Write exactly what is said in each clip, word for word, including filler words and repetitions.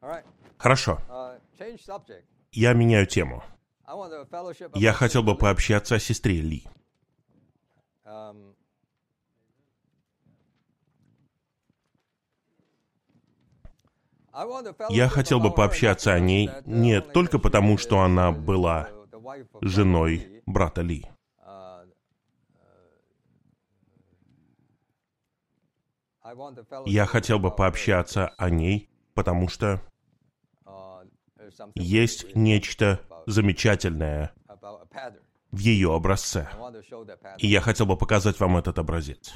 Хорошо. Я меняю тему. Я хотел бы пообщаться о сестре Ли. Я хотел бы пообщаться о ней не только потому, что она была женой брата Ли. Я хотел бы пообщаться о ней, потому что есть нечто замечательное в ее образце. И я хотел бы показать вам этот образец.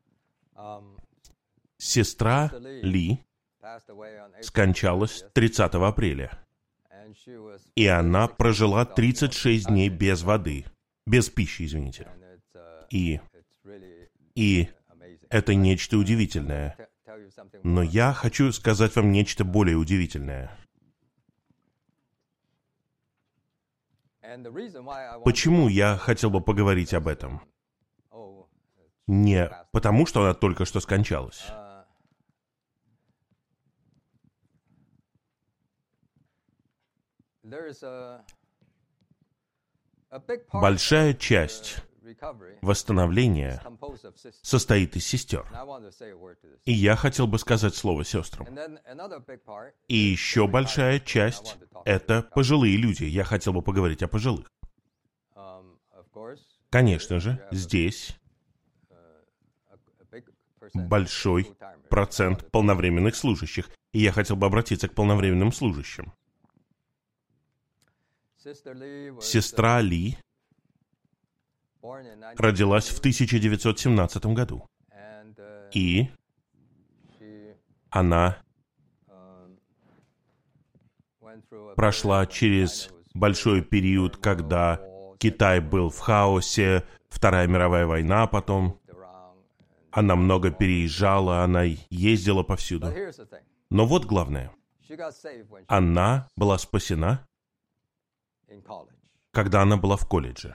Сестра Ли скончалась тридцатого апреля. И она прожила тридцать шесть дней без воды, без пищи, извините. И, и это нечто удивительное. Но я хочу сказать вам нечто более удивительное. Почему я хотел бы поговорить об этом? Не потому, что она только что скончалась. Большая часть восстановления состоит из сестер. И я хотел бы сказать слово сестрам. И еще большая часть — это пожилые люди. Я хотел бы поговорить о пожилых. Конечно же, здесь большой процент полновременных служащих. И я хотел бы обратиться к полновременным служащим. Сестра Ли родилась в тысяча девятьсот семнадцатом году. И она прошла через большой период, когда Китай был в хаосе, Вторая мировая война потом. Она много переезжала, она ездила повсюду. Но вот главное. Она была спасена, когда она была в колледже.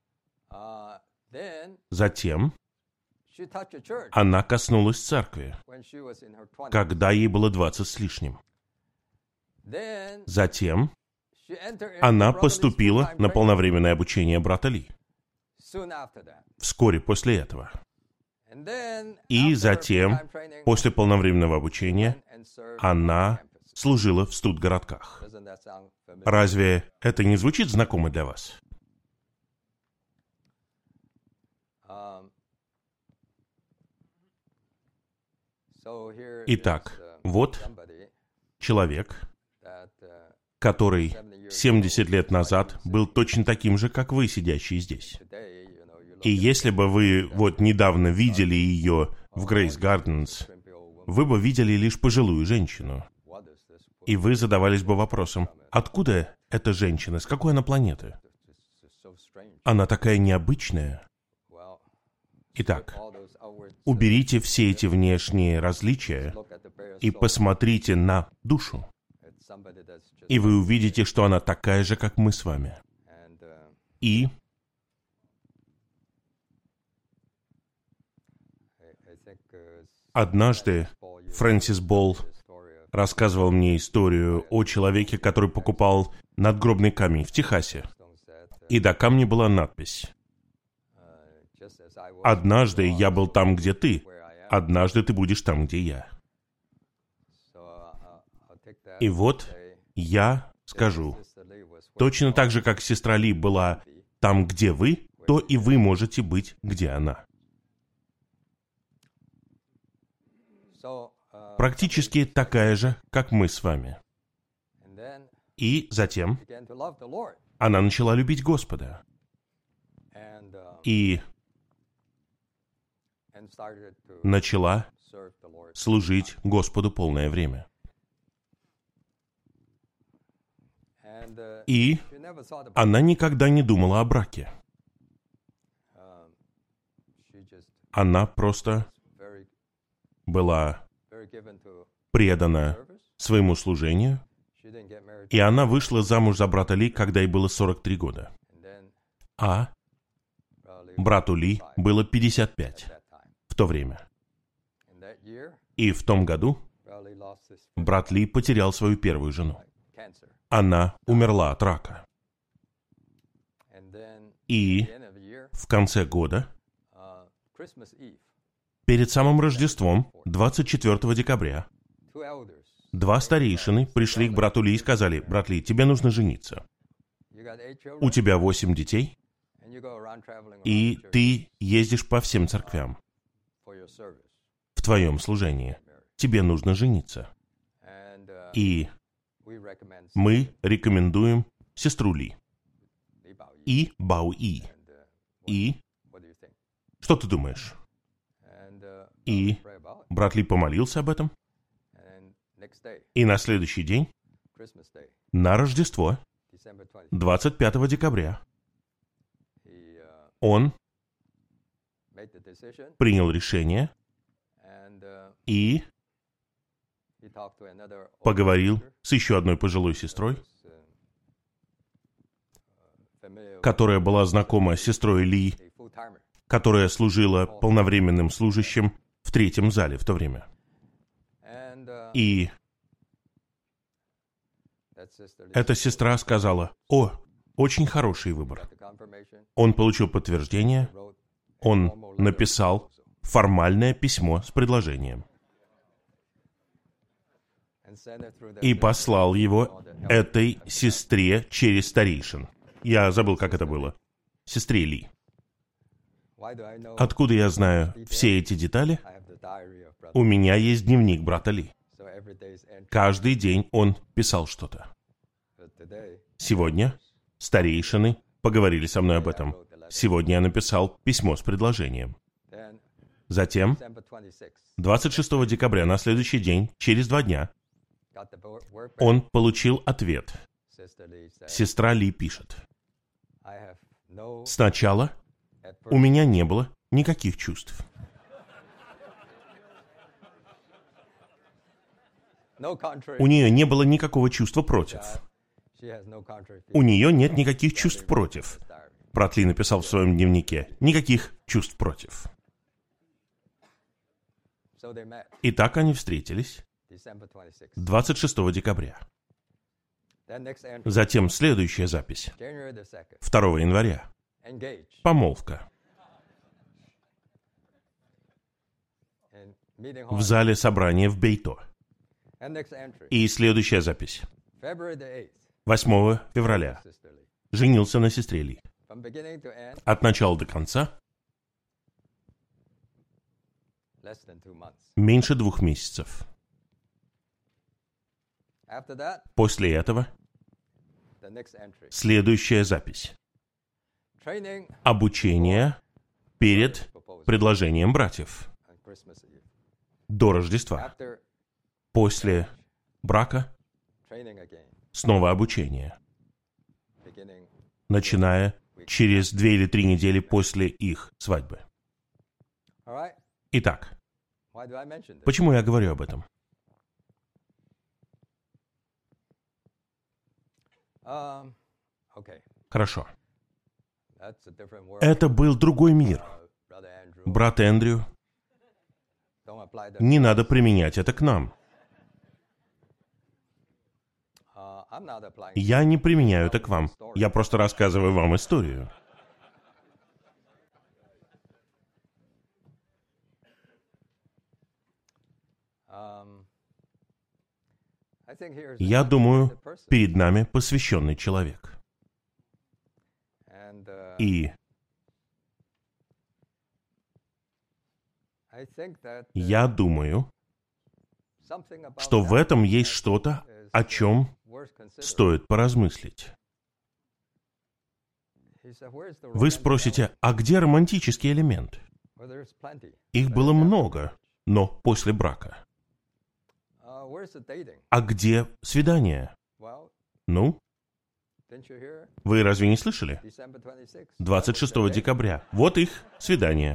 Затем она коснулась церкви, когда ей было двадцать с лишним. Затем она поступила на полновременное обучение брата Ли. Вскоре после этого. И затем, после полновременного обучения, она служила в студгородках. Разве это не звучит знакомо для вас? Итак, вот человек, который семьдесят лет назад был точно таким же, как вы, сидящие здесь. И если бы вы вот недавно видели ее в Грейс Гарденс, вы бы видели лишь пожилую женщину. И вы задавались бы вопросом, откуда эта женщина, с какой она планеты? Она такая необычная. Итак, уберите все эти внешние различия и посмотрите на душу. И вы увидите, что она такая же, как мы с вами. И однажды Фрэнсис Болл рассказывал мне историю о человеке, который покупал надгробный камень в Техасе. И до камня была надпись: «Однажды я был там, где ты. Однажды ты будешь там, где я». И вот я скажу, точно так же, как сестра Ли была там, где вы, то и вы можете быть, где она. Практически такая же, как мы с вами. И затем она начала любить Господа. И начала служить Господу полное время. И она никогда не думала о браке. Она просто была предана своему служению, и она вышла замуж за брата Ли, когда ей было сорок три года. А брату Ли было пятьдесят пять в то время. И в том году брат Ли потерял свою первую жену. Она умерла от рака. И в конце года, перед самым Рождеством, двадцать четвёртого декабря, два старейшины пришли к брату Ли и сказали: «Брат Ли, тебе нужно жениться. У тебя восемь детей, и ты ездишь по всем церквям в твоем служении. Тебе нужно жениться. И мы рекомендуем сестру Ли. И Бао И. И что ты думаешь?» И брат Ли помолился об этом. И на следующий день, на Рождество, двадцать пятого декабря, он принял решение и поговорил с еще одной пожилой сестрой, которая была знакома с сестрой Ли, которая служила полновременным служащим в третьем зале в то время. И эта сестра сказала: «О, очень хороший выбор». Он получил подтверждение, он написал формальное письмо с предложением и послал его этой сестре через старейшин. Я забыл, как это было. Сестре Ли. Откуда я знаю все эти детали? У меня есть дневник брата Ли. Каждый день он писал что-то. Сегодня старейшины поговорили со мной об этом. Сегодня я написал письмо с предложением. Затем, двадцать шестого декабря, на следующий день, через два дня, он получил ответ. Сестра Ли пишет: «Сначала у меня не было никаких чувств. У нее не было никакого чувства против. У нее нет никаких чувств против». Брат Ли написал в своем дневнике: «Никаких чувств против». И так они встретились двадцать шестого декабря. Затем следующая запись. второго января. Помолвка. В зале собрания в Бэйто. И следующая запись. восьмого февраля. Женился на сестре Ли. От начала до конца меньше двух месяцев. После этого следующая запись. Обучение перед предложением братьев до Рождества. После брака снова обучение, начиная через две или три недели после их свадьбы. Итак, почему я говорю об этом? Хорошо. Это был другой мир. Брат Эндрю, не надо применять это к нам. Я не применяю это к вам. Я просто рассказываю вам историю. Я думаю, перед нами посвященный человек. И я думаю, что в этом есть что-то, о чем стоит поразмыслить. Вы спросите, а где романтический элемент? Их было много, но после брака. А где свидание? Ну? Вы разве не слышали? двадцать шестого декабря. Вот их свидание.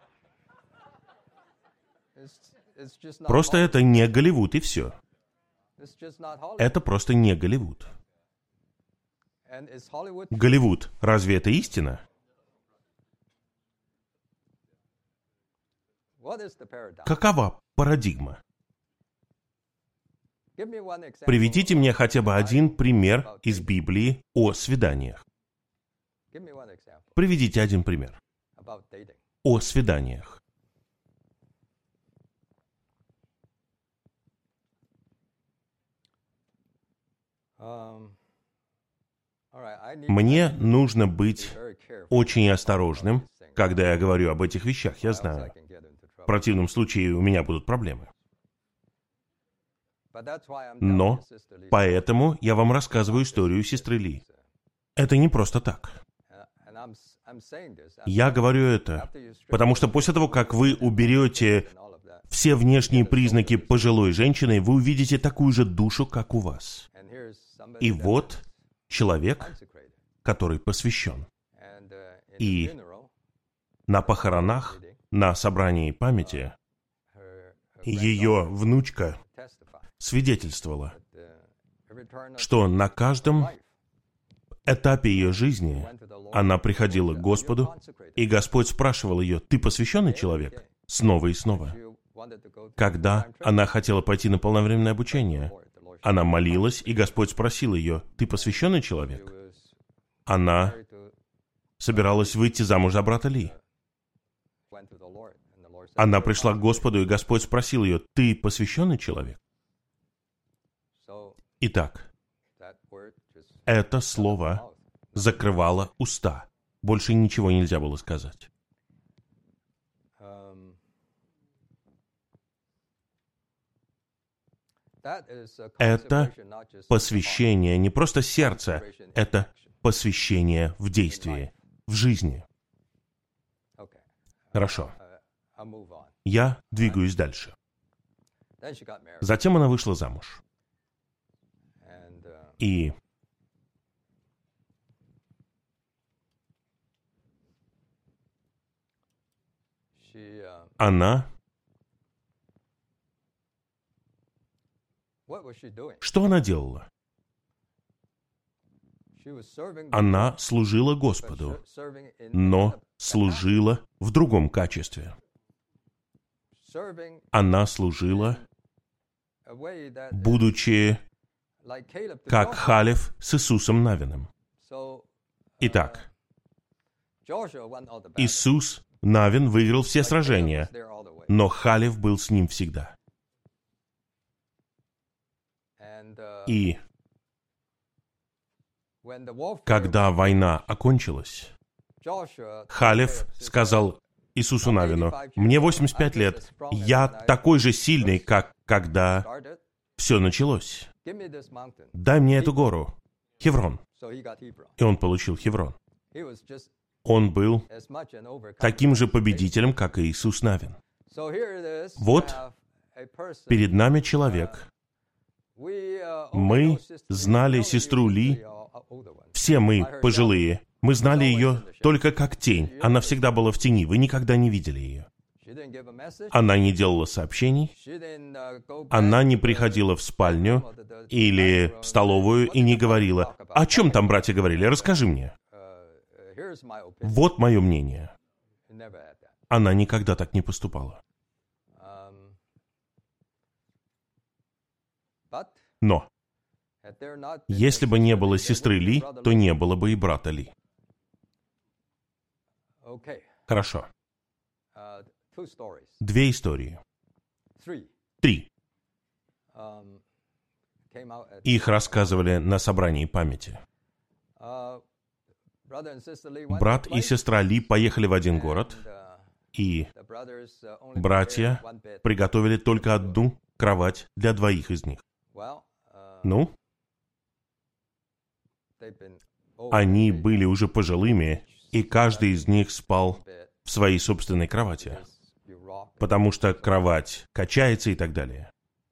Просто это не Голливуд, и все. Это просто не Голливуд. Голливуд, разве это истина? Какова парадигма? Приведите мне хотя бы один пример из Библии о свиданиях. Приведите один пример о свиданиях. Мне нужно быть очень осторожным, когда я говорю об этих вещах, я знаю. В противном случае у меня будут проблемы. Но поэтому я вам рассказываю историю сестры Ли. Это не просто так. Я говорю это, потому что после того, как вы уберете все внешние признаки пожилой женщины, вы увидите такую же душу, как у вас. И вот человек, который посвящен. И на похоронах, на собрании памяти, ее внучка свидетельствовала, что на каждом этапе ее жизни она приходила к Господу, и Господь спрашивал ее: «Ты посвященный человек?» Снова и снова. Когда она хотела пойти на полновременное обучение, она молилась, и Господь спросил ее: «Ты посвященный человек?» Она собиралась выйти замуж за брата Ли. Она пришла к Господу, и Господь спросил ее: «Ты посвященный человек?» Итак, это слово закрывало уста. Больше ничего нельзя было сказать. Это посвящение не просто сердца, это посвящение в действии, в жизни. Хорошо. Я двигаюсь дальше. Затем она вышла замуж. И она... Что она делала? Она служила Господу, но служила в другом качестве. Она служила, будучи как Халев с Иисусом Навином. Итак, Иисус Навин выиграл все сражения, но Халев был с ним всегда. И когда война окончилась, Халев сказал Иисусу Навину: «Мне восемьдесят пять лет, я такой же сильный, как когда все началось. Дай мне эту гору, Хеврон». И он получил Хеврон. Он был таким же победителем, как и Иисус Навин. Вот перед нами человек. Мы знали сестру Ли, все мы пожилые, мы знали ее только как тень. Она всегда была в тени, вы никогда не видели ее. Она не делала сообщений, она не приходила в спальню или в столовую и не говорила: «О чем там братья говорили? Расскажи мне». Вот мое мнение. Она никогда так не поступала. Но если бы не было сестры Ли, то не было бы и брата Ли. Хорошо. Две истории. Три. Их рассказывали на собрании памяти. Брат и сестра Ли поехали в один город, и братья приготовили только одну кровать для двоих из них. Ну, они были уже пожилыми, и каждый из них спал в своей собственной кровати, потому что кровать качается и так далее.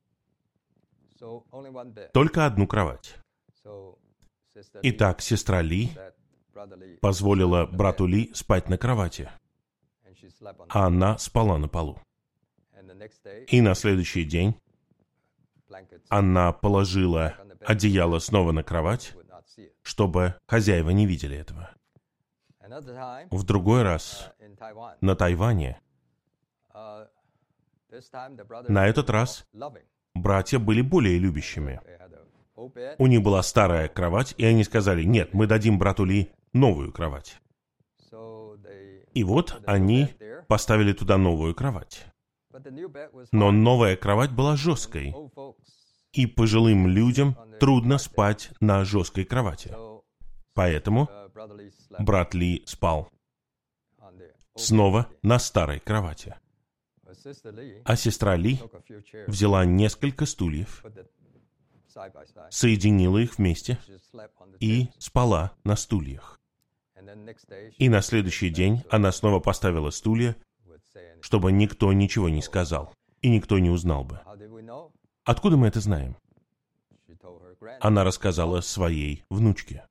Только одну кровать. Итак, сестра Ли позволила брату Ли спать на кровати, а она спала на полу. И на следующий день она положила одеяло снова на кровать, чтобы хозяева не видели этого. В другой раз на Тайване, на этот раз братья были более любящими. У них была старая кровать, и они сказали: нет, мы дадим брату Ли новую кровать. И вот они поставили туда новую кровать. Но новая кровать была жесткой, и пожилым людям трудно спать на жесткой кровати. Поэтому брат Ли спал снова на старой кровати. А сестра Ли взяла несколько стульев, соединила их вместе и спала на стульях. И на следующий день она снова поставила стулья, чтобы никто ничего не сказал, и никто не узнал бы. Откуда мы это знаем? Она рассказала своей внучке.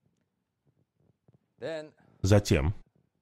Затем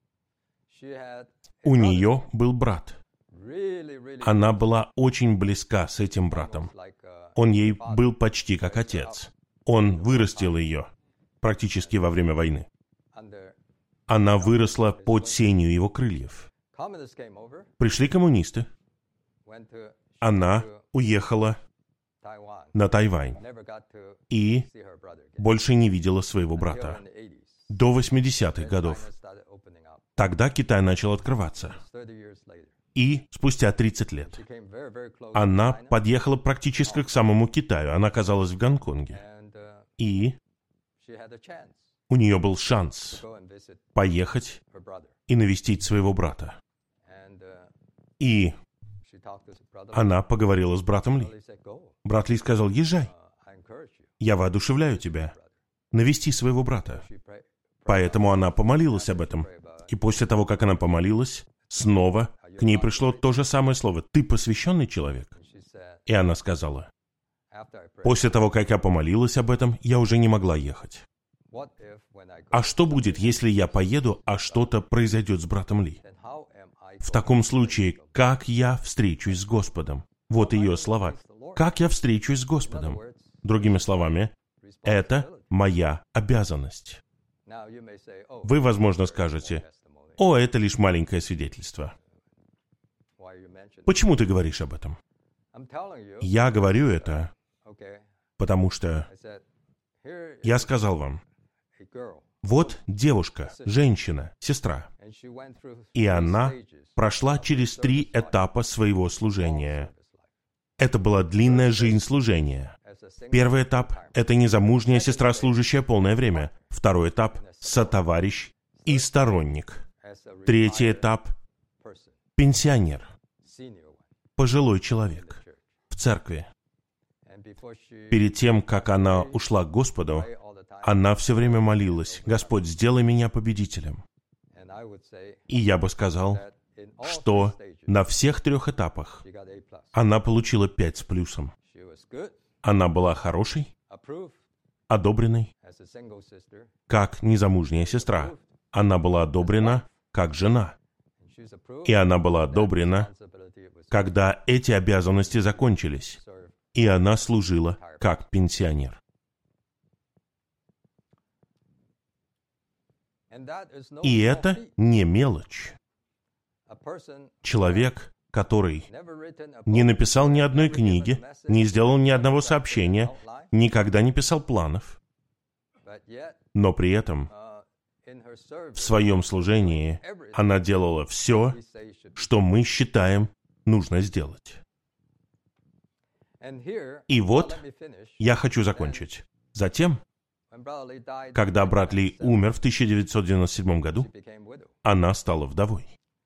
у нее был брат. Она была очень близка с этим братом. Он ей был почти как отец. Он вырастил ее практически во время войны. Она выросла под сенью его крыльев. Пришли коммунисты. Она уехала на Тайвань и больше не видела своего брата до восьмидесятых годов. Тогда Китай начал открываться. И спустя тридцать лет она подъехала практически к самому Китаю. Она оказалась в Гонконге. И у нее был шанс поехать и навестить своего брата. И она поговорила с братом Ли. Брат Ли сказал: езжай, я воодушевляю тебя навести своего брата. Поэтому она помолилась об этом. И после того, как она помолилась, снова к ней пришло то же самое слово: ты посвященный человек? И она сказала: после того, как я помолилась об этом, я уже не могла ехать. А что будет, если я поеду, а что-то произойдет с братом Ли? В таком случае, как я встречусь с Господом? Вот ее слова. Как я встречусь с Господом? Другими словами, это моя обязанность. Вы, возможно, скажете: о, это лишь маленькое свидетельство. Почему ты говоришь об этом? Я говорю это, потому что я сказал вам: вот девушка, женщина, сестра, и она прошла через три этапа своего служения. Это была длинная жизнь служения. Первый этап — это незамужняя сестра, служащая полное время. Второй этап — сотоварищ и сторонник. Третий этап — пенсионер, пожилой человек в церкви. Перед тем, как она ушла к Господу, она все время молилась: Господь, сделай меня победителем. И я бы сказал, что на всех трех этапах она получила пять с плюсом. Она была хорошей, одобренной, как незамужняя сестра. Она была одобрена, как жена. И она была одобрена, когда эти обязанности закончились. И она служила, как пенсионер. И это не мелочь. Человек, который не написал ни одной книги, не сделал ни одного сообщения, никогда не писал планов, но при этом в своем служении она делала все, что мы считаем нужно сделать. И вот я хочу закончить. Затем, когда брат Ли умер в тысяча девятьсот девяносто седьмом году, она стала вдовой.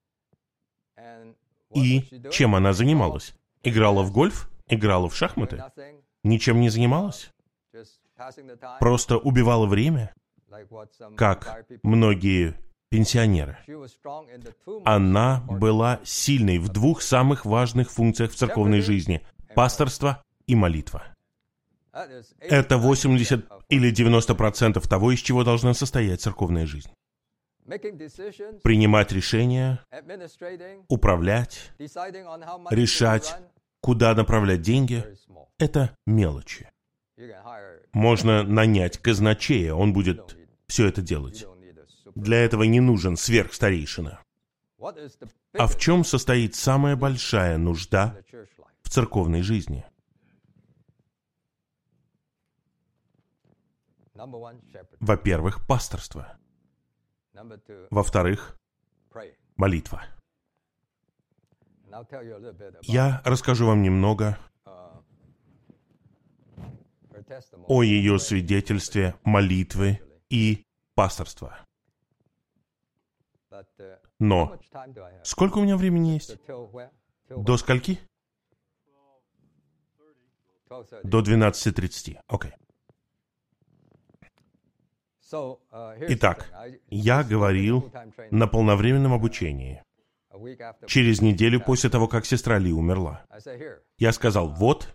И чем она занималась? Играла в гольф? Играла в шахматы? Ничем не занималась? Просто убивала время, как многие пенсионеры. Она была сильной в двух самых важных функциях в церковной жизни – пасторство и молитва. Это восемьдесят или девяносто процентов того, из чего должна состоять церковная жизнь. Принимать решения, управлять, решать, куда направлять деньги – это мелочи. Можно нанять казначея, он будет все это делать. Для этого не нужен сверхстарейшина. А в чем состоит самая большая нужда в церковной жизни? Во-первых, пасторство. Во-вторых, молитва. Я расскажу вам немного о ее свидетельстве молитвы и пасторства. Но сколько у меня времени есть? До скольки? До двенадцати тридцати. Окей. Итак, я говорил на полновременном обучении через неделю после того, как сестра Ли умерла. Я сказал, вот,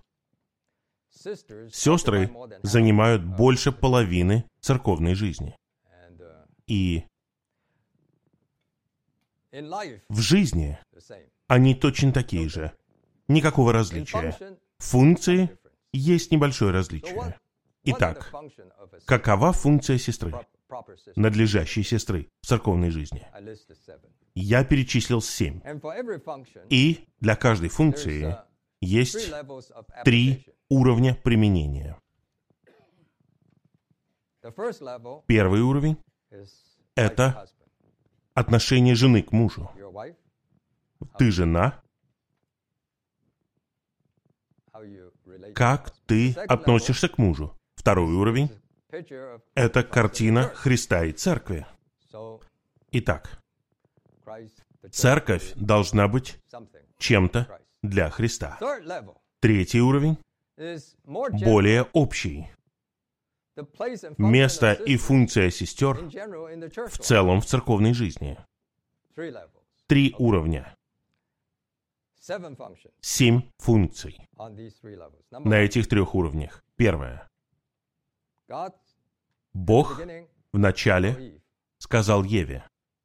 сестры занимают больше половины церковной жизни. И в жизни они точно такие же. Никакого различия. Функции есть небольшое различие. Итак, какова функция сестры, надлежащей сестры в церковной жизни? Я перечислил семь. И для каждой функции есть три уровня применения. Первый уровень — это отношение жены к мужу. Ты жена. Как ты относишься к мужу? Второй уровень — это картина Христа и Церкви. Итак, Церковь должна быть чем-то для Христа. Третий уровень — более общий. Место и функция сестер в целом в церковной жизни. Три уровня. Семь функций на этих трех уровнях. Первое. Бог в начале сказал Еве: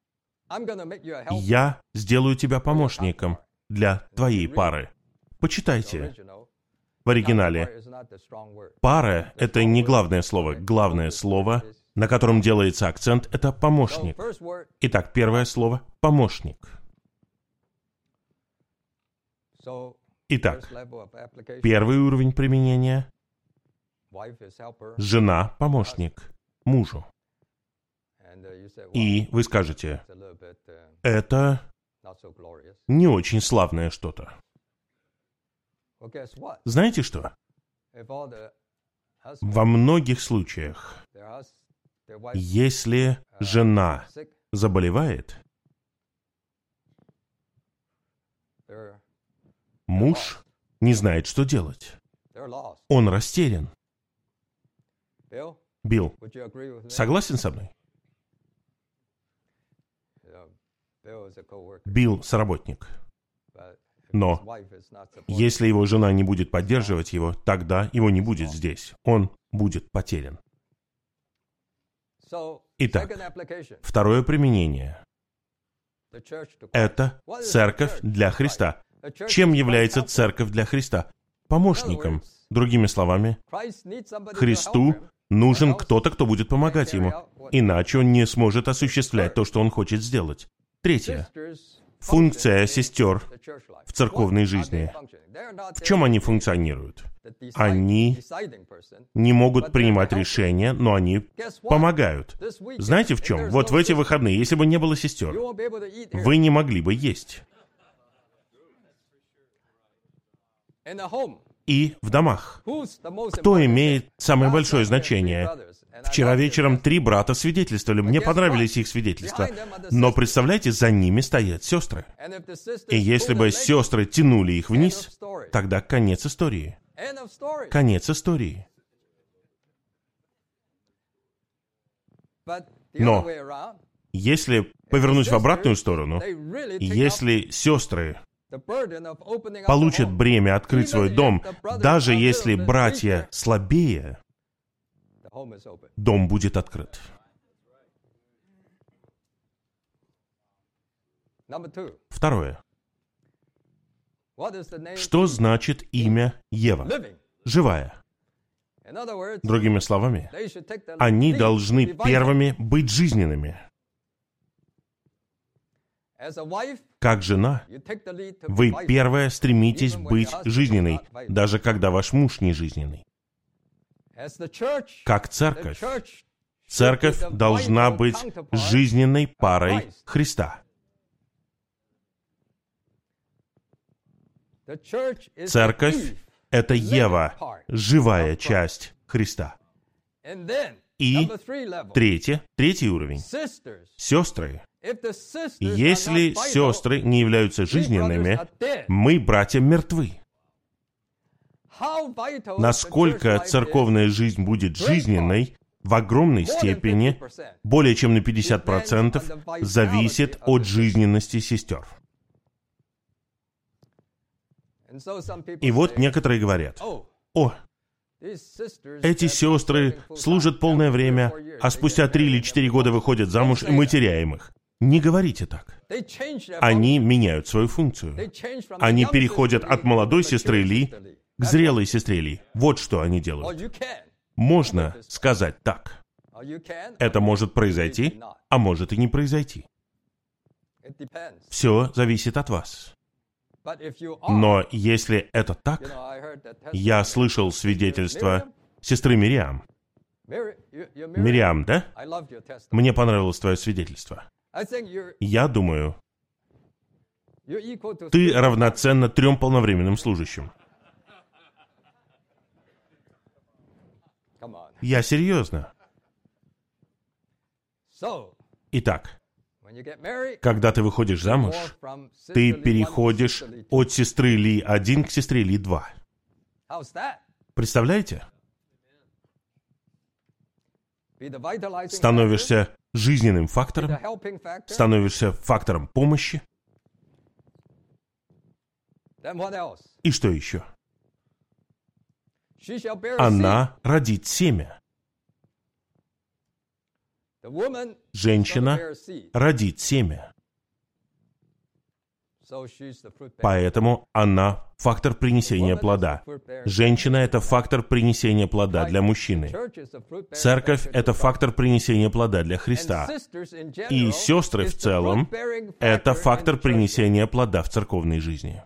«Я сделаю тебя помощником для твоей пары». Почитайте. В оригинале «пара» — это не главное слово. Главное слово, на котором делается акцент, это «помощник». Итак, первое слово — «помощник». Итак, первый уровень применения — жена — помощник мужу. И вы скажете, это не очень славное что-то. Знаете что? Во многих случаях, если жена заболевает, муж не знает, что делать. Он растерян. Билл, согласен со мной? Билл — соработник. Но если его жена не будет поддерживать его, тогда его не будет здесь. Он будет потерян. Итак, второе применение — это церковь для Христа. Чем является церковь для Христа? Помощником. Другими словами, Христу нужен кто-то, кто будет помогать ему. Иначе он не сможет осуществлять то, что он хочет сделать. Третье. Функция сестер в церковной жизни. В чем они функционируют? Они не могут принимать решения, но они помогают. Знаете в чем? Вот в эти выходные, если бы не было сестер, вы не могли бы есть. И в домах. Кто имеет самое большое значение? Вчера вечером три брата свидетельствовали. Мне понравились их свидетельства. Но представляете, за ними стоят сестры. И если бы сестры тянули их вниз, тогда конец истории. Конец истории. Но если повернуть в обратную сторону, если сестры получат бремя открыть свой дом, даже если братья слабее, дом будет открыт. Второе. Что значит имя Ева? Живая. Другими словами, они должны первыми быть жизненными. Как жена, вы первая стремитесь быть жизненной, даже когда ваш муж не жизненный. как церковь. Церковь должна быть жизненной парой Христа. Церковь — это Ева, живая часть Христа. И третье, третий уровень. Сестры. Если сестры не являются жизненными, мы, братья, мертвы. Насколько церковная жизнь будет жизненной, в огромной степени, более чем на пятьдесят процентов, зависит от жизненности сестер. И вот некоторые говорят: «О, эти сестры служат полное время, а спустя три или четыре года выходят замуж, и мы теряем их». Не говорите так. Они меняют свою функцию. Они переходят от молодой сестры Ли к зрелой сестре Ли. Вот что они делают. Можно сказать так. Это может произойти, а может и не произойти. Все зависит от вас. Но если это так, я слышал свидетельство сестры Мириам. Мириам, да? Мне понравилось твое свидетельство. Я думаю, ты равноценна трем полновременным служащим. Я серьезно. Итак, когда ты выходишь замуж, ты переходишь от сестры Ли один к сестре Ли два. Представляете? Становишься жизненным фактором, становишься фактором помощи. И что еще? Она родит семя. Женщина родит семя. Поэтому она фактор принесения плода. Женщина — это фактор принесения плода для мужчины. Церковь — это фактор принесения плода для Христа. И сестры в целом — это фактор принесения плода в церковной жизни.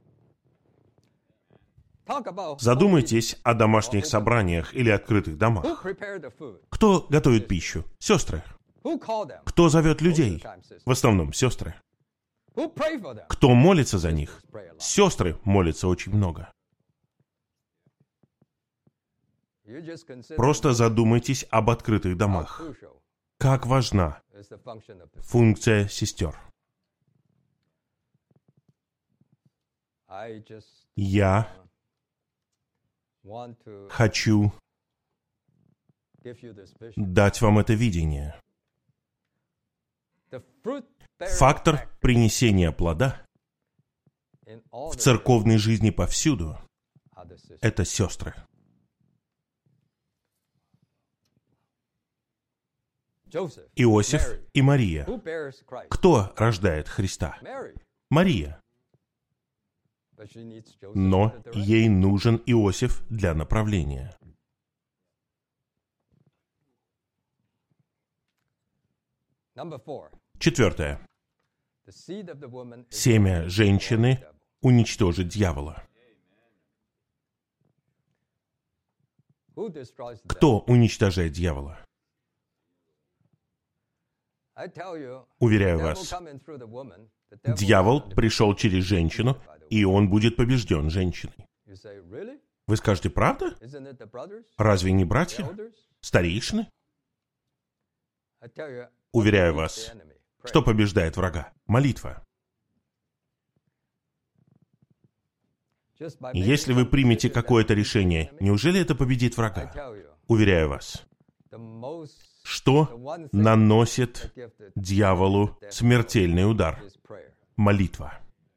Задумайтесь о домашних собраниях или открытых домах. Кто готовит пищу? Сестры. Кто зовет людей? В основном сестры. Кто молится за них? Сестры молятся очень много. Просто задумайтесь об открытых домах. Как важна функция сестер. Я хочу дать вам это видение. Фактор принесения плода в церковной жизни повсюду — это сестры. Иосиф и Мария. Кто рождает Христа? Мария. Но ей нужен Иосиф для направления. Четвертое. Семя женщины уничтожит дьявола. Кто уничтожает дьявола? Уверяю вас, дьявол пришел через женщину, и он будет побежден женщиной. Вы скажете, правда? Разве не братья? Старейшины? Уверяю вас, что побеждает врага? Молитва. Если вы примете какое-то решение, неужели это победит врага? Уверяю вас, что наносит дьяволу смертельный удар? Молитва.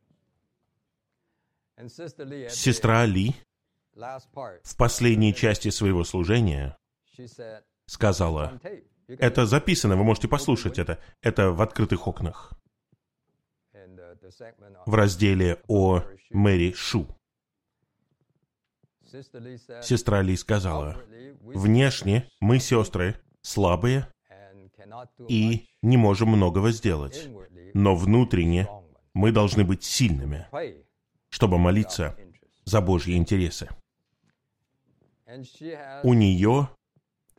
Сестра Ли в последней части своего служения сказала, это записано, вы можете послушать это, это в открытых окнах, в разделе о Мэри Шу. Сестра Ли сказала, внешне мы, сестры, слабые и не можем многого сделать, но внутренне мы должны быть сильными, чтобы молиться за Божьи интересы. У нее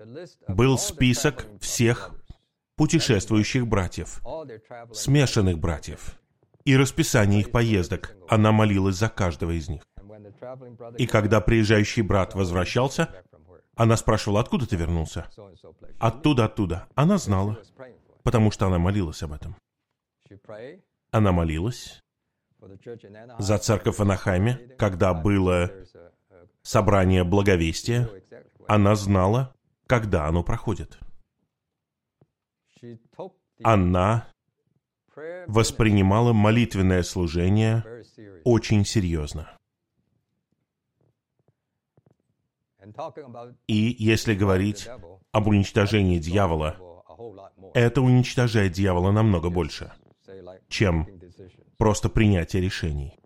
был список всех путешествующих братьев, смешанных братьев, и расписание их поездок. Она молилась за каждого из них. И когда приезжающий брат возвращался, она спрашивала, откуда ты вернулся? Оттуда, оттуда. Она знала, потому что она молилась об этом. Она молилась за церковь в Анахайме, когда было собрание благовестия. Она знала, когда оно проходит. Она воспринимала молитвенное служение очень серьезно. И если говорить об уничтожении дьявола, это уничтожает дьявола намного больше, чем просто принятие решений.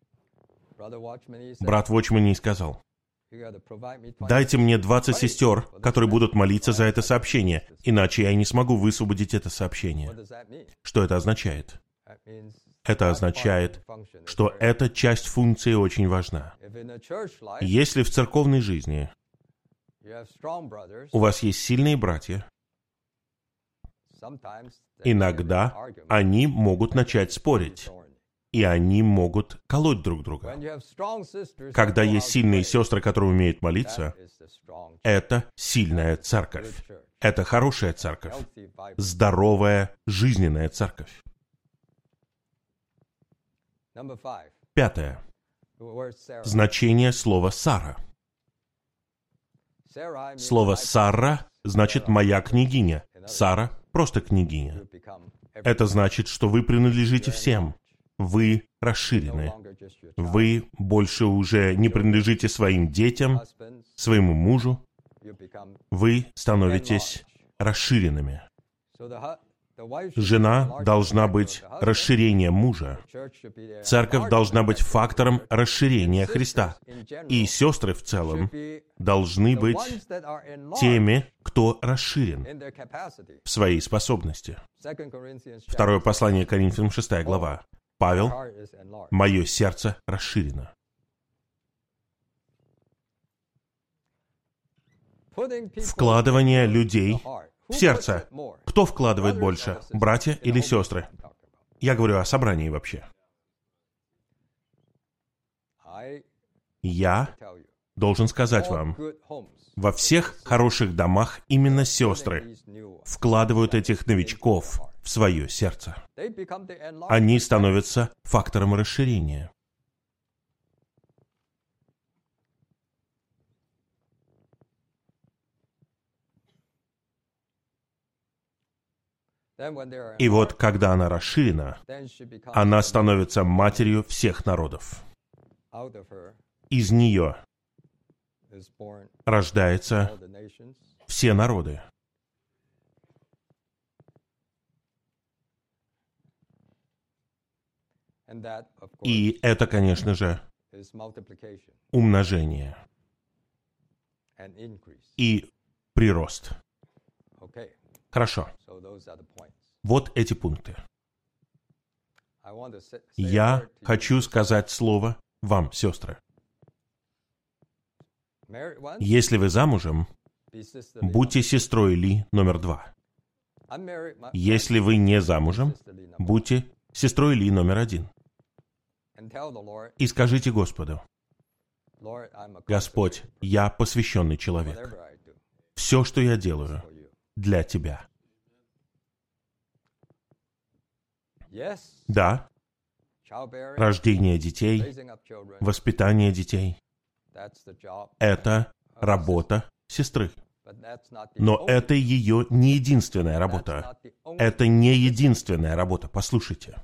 Брат Вочмани сказал, «Дайте мне двадцать сестер, которые будут молиться за это сообщение, иначе я не смогу высвободить это сообщение». Что это означает? Это означает, что эта часть функции очень важна. Если в церковной жизни у вас есть сильные братья, иногда они могут начать спорить, и они могут колоть друг друга. Когда есть сильные сестры, которые умеют молиться, это сильная церковь. Это хорошая церковь. Здоровая, жизненная церковь. Пятое. Значение слова «Сара». Слово «Сара» значит «моя княгиня». Сара — просто княгиня. Это значит, что вы принадлежите всем. Вы расширены. Вы больше уже не принадлежите своим детям, своему мужу. Вы становитесь расширенными. Жена должна быть расширением мужа. Церковь должна быть фактором расширения Христа. И сестры в целом должны быть теми, кто расширен в своей способности. Второе послание Коринфянам, шестая глава. Павел, «Мое сердце расширено». Вкладывание людей в сердце. Кто вкладывает больше, братья или сестры? Я говорю о собрании вообще. Я должен сказать вам, во всех хороших домах именно сестры вкладывают этих новичков в свое сердце. Они становятся фактором расширения. И вот, когда она расширена, она становится матерью всех народов. Из нее рождаются все народы. И это, конечно же, умножение и прирост. Хорошо. Вот эти пункты. Я хочу сказать слово вам, сестры. Если вы замужем, будьте сестрой Ли номер два. Если вы не замужем, будьте сестрой Ли номер один. И скажите Господу: Господь, я посвященный человек. Все, что я делаю, для Тебя. Да, рождение детей, воспитание детей — это работа сестры. Но это ее не единственная работа. Это не единственная работа. Послушайте.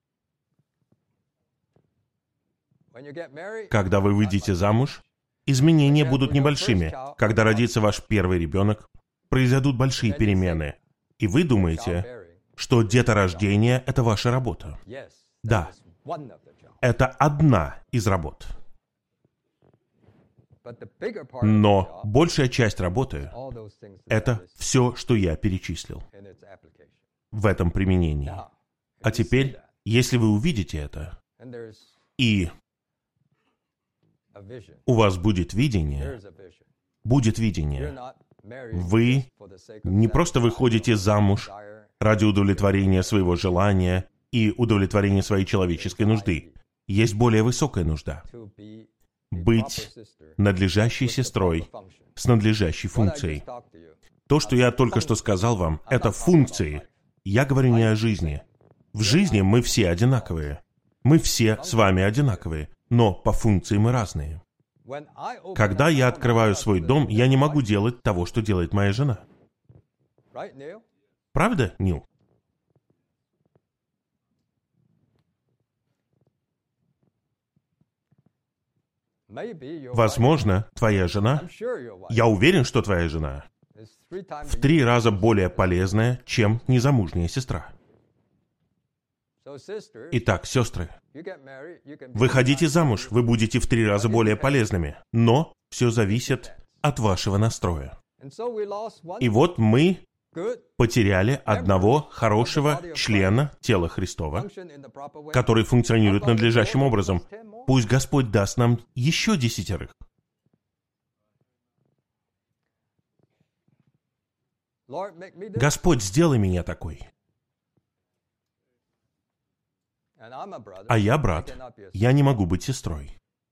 Когда вы выйдете замуж, изменения будут небольшими. Когда родится ваш первый ребенок, произойдут большие перемены. И вы думаете, что деторождение — это ваша работа. Да, это одна из работ. Но большая часть работы — это все, что я перечислил в этом применении. А теперь, если вы увидите это, и у вас будет видение, будет видение, Вы не просто выходите замуж ради удовлетворения своего желания и удовлетворения своей человеческой нужды. Есть более высокая нужда. Быть надлежащей сестрой с надлежащей функцией. То, что я только что сказал вам, это функции. Я говорю не о жизни. В жизни мы все одинаковые. Мы все с вами одинаковые, но по функции мы разные. Когда я открываю свой дом, я не могу делать того, что делает моя жена. Правда, Нил? Возможно, твоя жена, я уверен, что твоя жена, в три раза более полезная, чем незамужняя сестра. Итак, сестры, выходите замуж, вы будете в три раза более полезными, но все зависит от вашего настроя. И вот мы потеряли одного хорошего члена тела Христова, который функционирует надлежащим образом. Пусть Господь даст нам еще десятерых. Господь, сделай меня такой. А я брат. Я не могу быть сестрой.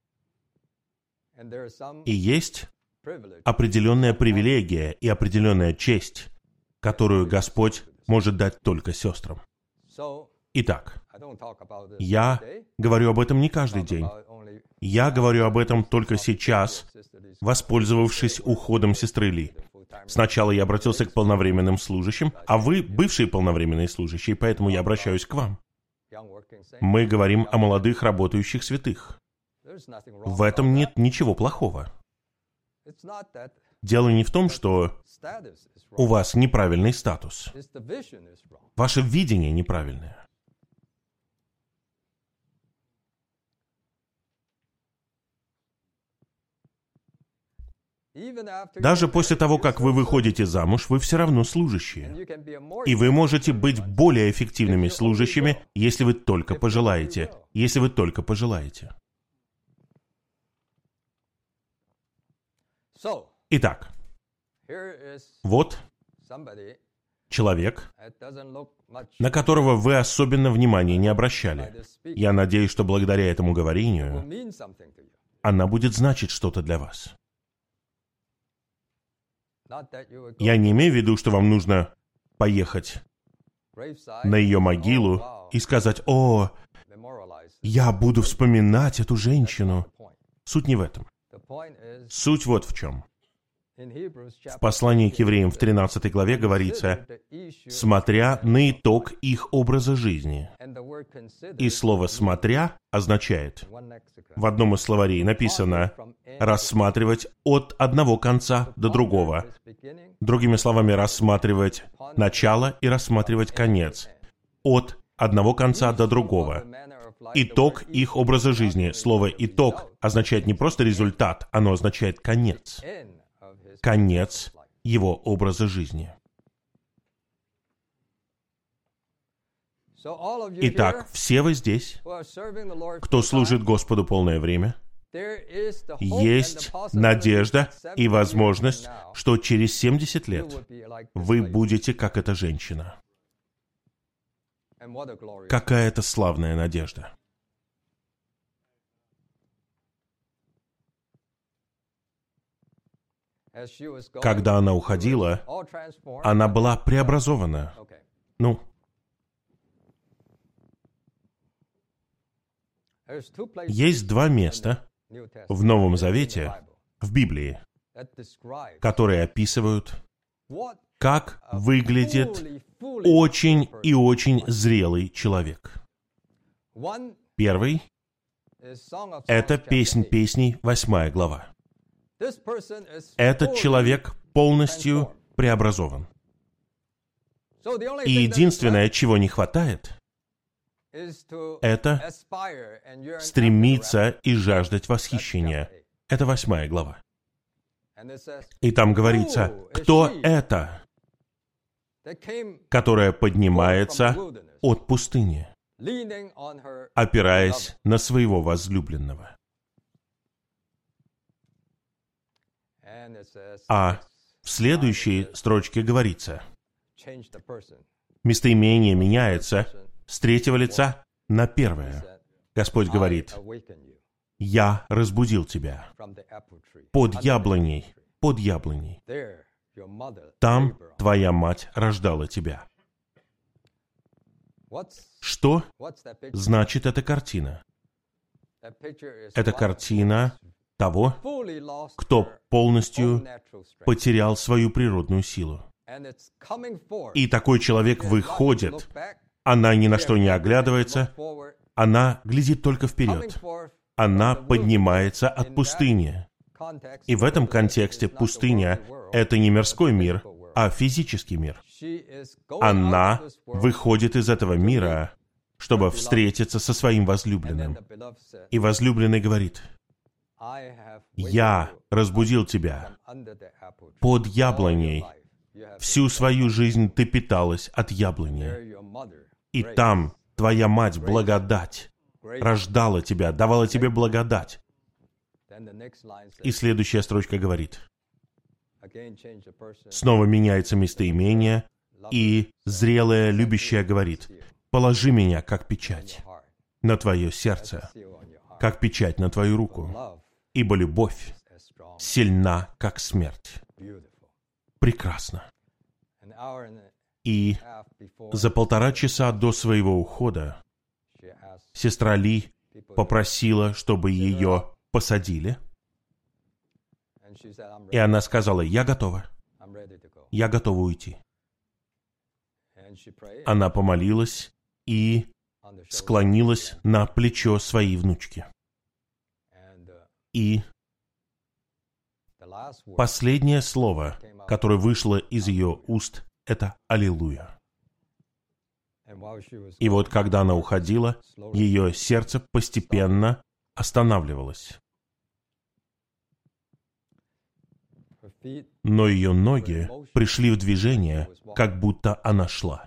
И есть определенная привилегия и определенная честь, которую Господь может дать только сестрам. Итак, я говорю об этом не каждый день. Я говорю об этом только сейчас, воспользовавшись уходом сестры Ли. Сначала я обратился к полновременным служащим, а вы бывшие полновременные служащие, поэтому я обращаюсь к вам. Мы говорим о молодых работающих святых. В этом нет ничего плохого. Дело не в том, что у вас неправильный статус. Ваше видение неправильное. Даже после того, как вы выходите замуж, вы все равно служащие. И вы можете быть более эффективными служащими, если вы только пожелаете. Если вы только пожелаете. Итак, вот человек, на которого вы особенно внимания не обращали. Я надеюсь, что благодаря этому говорению она будет значить что-то для вас. Я не имею в виду, что вам нужно поехать на ее могилу и сказать: «О, я буду вспоминать эту женщину». Суть не в этом. Суть вот в чем. В послании к евреям в тринадцатой главе говорится: «смотря на итог их образа жизни». И слово «смотря» означает, в одном из словарей написано «рассматривать от одного конца до другого». Другими словами, рассматривать начало и рассматривать конец. От одного конца до другого. Итог их образа жизни. Слово «итог» означает не просто результат, оно означает конец. Конец его образа жизни. Итак, все вы здесь, кто служит Господу полное время, есть надежда и возможность, что через семьдесят лет вы будете как эта женщина. Какая это славная надежда! Когда она уходила, она была преобразована. Ну, есть два места в Новом Завете, в Библии, которые описывают, как выглядит очень и очень зрелый человек. Первый — это «Песнь песней», восьмая глава. Этот человек полностью преобразован. И единственное, чего не хватает, это стремиться и жаждать восхищения. Это восьмая глава. И там говорится, кто это, которая поднимается от пустыни, опираясь на своего возлюбленного. А В следующей строчке говорится, местоимение меняется с третьего лица на первое. Господь говорит, «Я разбудил тебя под яблоней, под яблоней. Там твоя мать рождала тебя». Что значит эта картина? Это картина того, кто полностью потерял свою природную силу. И такой человек выходит, она ни на что не оглядывается, она глядит только вперед. Она поднимается от пустыни. И в этом контексте пустыня — это не мирской мир, а физический мир. Она выходит из этого мира, чтобы встретиться со своим возлюбленным. И возлюбленный говорит, «Я разбудил тебя под яблоней. Всю свою жизнь ты питалась от яблони. И там твоя мать, благодать, рождала тебя, давала тебе благодать». И следующая строчка говорит, снова меняется местоимение, и зрелая любящая говорит, «Положи меня, как печать, на твое сердце, как печать на твою руку, ибо любовь сильна, как смерть». Прекрасно. И за полтора часа до своего ухода сестра Ли попросила, чтобы ее посадили. И она сказала, «Я готова. Я готова уйти». Она помолилась и склонилась на плечо своей внучки. И последнее слово, которое вышло из ее уст, это «Аллилуйя». И вот когда она уходила, ее сердце постепенно останавливалось. Но ее ноги пришли в движение, как будто она шла.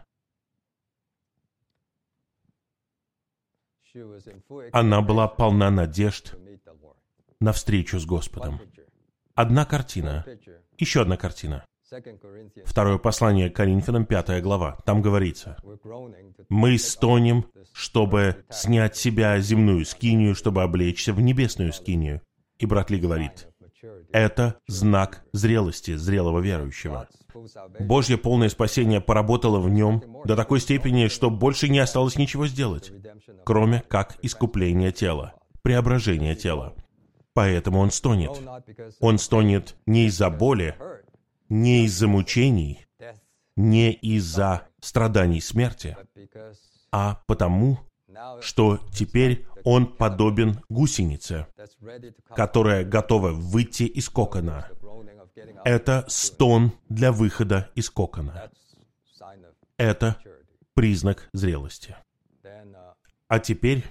Она была полна надежд на встречу с Господом. Одна картина, еще одна картина. Второе послание к Коринфянам, пятая глава. Там говорится, «Мы стонем, чтобы снять с себя земную скинию, чтобы облечься в небесную скинию». И брат Ли говорит, это знак зрелости зрелого верующего. Божье полное спасение поработало в нем до такой степени, что больше не осталось ничего сделать, кроме как искупления тела, преображения тела. Поэтому он стонет. Он стонет не из-за боли, не из-за мучений, не из-за страданий смерти, а потому, что теперь он подобен гусенице, которая готова выйти из кокона. Это стон для выхода из кокона. Это признак зрелости. А теперь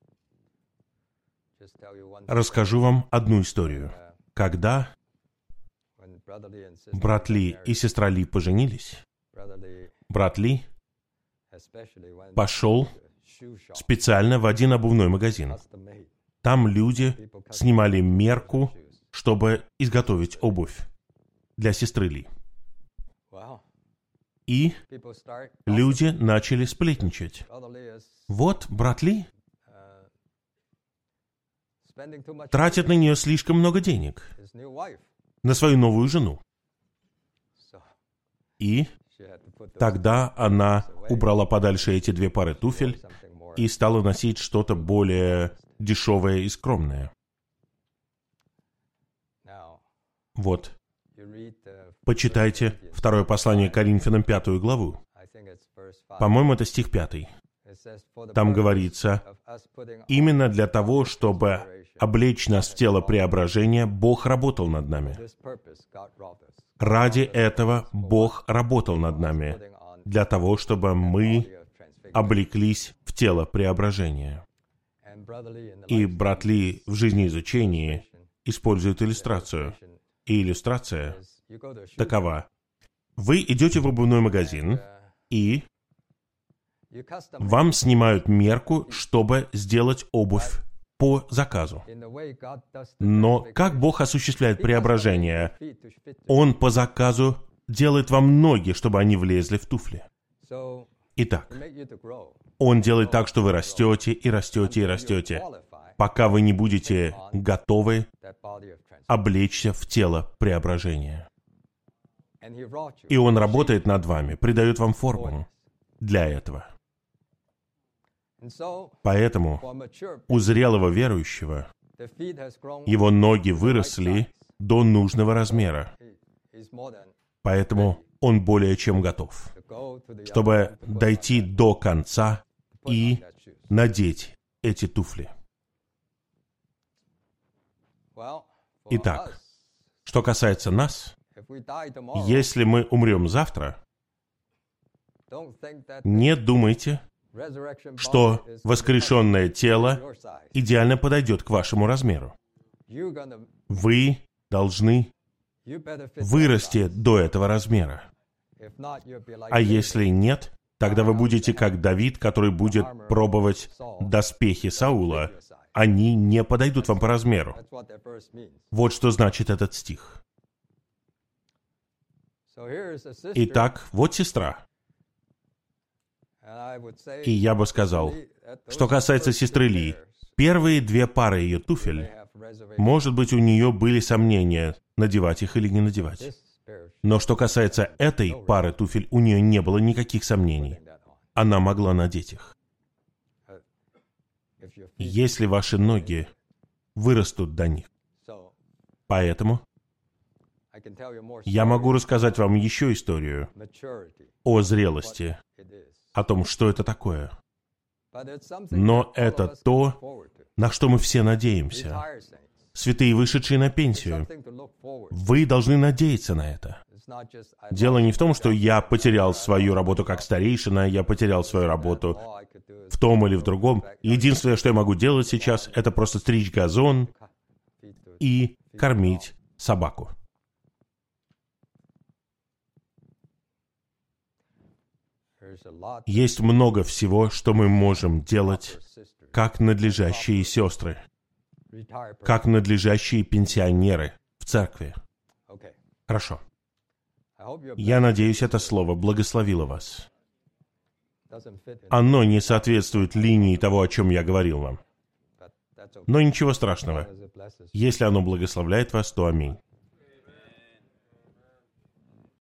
расскажу вам одну историю. Когда брат Ли и сестра Ли поженились, брат Ли пошел специально в один обувной магазин. Там люди снимали мерку, чтобы изготовить обувь для сестры Ли. И люди начали сплетничать. Вот брат Ли тратит на нее слишком много денег, на свою новую жену. И тогда она убрала подальше эти две пары туфель и стала носить что-то более дешевое и скромное. Вот. Почитайте второе послание к Коринфянам, пятую главу. По-моему, это стих пятый. Там говорится, именно для того, чтобы облечь нас в тело преображения, Бог работал над нами. Ради этого Бог работал над нами, для того, чтобы мы облеклись в тело преображения. И брат Ли в жизнеизучении использует иллюстрацию. И иллюстрация такова. Вы идете в обувной магазин, и вам снимают мерку, чтобы сделать обувь по заказу. Но как Бог осуществляет преображение? Он по заказу делает вам ноги, чтобы они влезли в туфли. Итак, Он делает так, что вы растете и растете и растете, пока вы не будете готовы облечься в тело преображения. И Он работает над вами, придает вам форму для этого. Поэтому у зрелого верующего его ноги выросли до нужного размера. Поэтому он более чем готов, чтобы дойти до конца и надеть эти туфли. Итак, что касается нас, если мы умрем завтра, не думайте, что воскрешенное тело идеально подойдет к вашему размеру. Вы должны вырасти до этого размера. А если нет, тогда вы будете как Давид, который будет пробовать доспехи Саула. Они не подойдут вам по размеру. Вот что значит этот стих. Итак, вот сестра. И я бы сказал, что касается сестры Ли, первые две пары ее туфель, может быть, у нее были сомнения, надевать их или не надевать. Но что касается этой пары туфель, у нее не было никаких сомнений. Она могла надеть их. Если ваши ноги вырастут до них. Поэтому я могу рассказать вам еще историю о зрелости, о том, что это такое. Но это то, на что мы все надеемся. Святые, вышедшие на пенсию, вы должны надеяться на это. Дело не в том, что я потерял свою работу как старейшина, я потерял свою работу в том или в другом. Единственное, что я могу делать сейчас, это просто стричь газон и кормить собаку. Есть много всего, что мы можем делать, как надлежащие сестры, как надлежащие пенсионеры в церкви. Хорошо. Я надеюсь, это слово благословило вас. Оно не соответствует линии того, о чем я говорил вам. Но ничего страшного. Если оно благословляет вас, то аминь.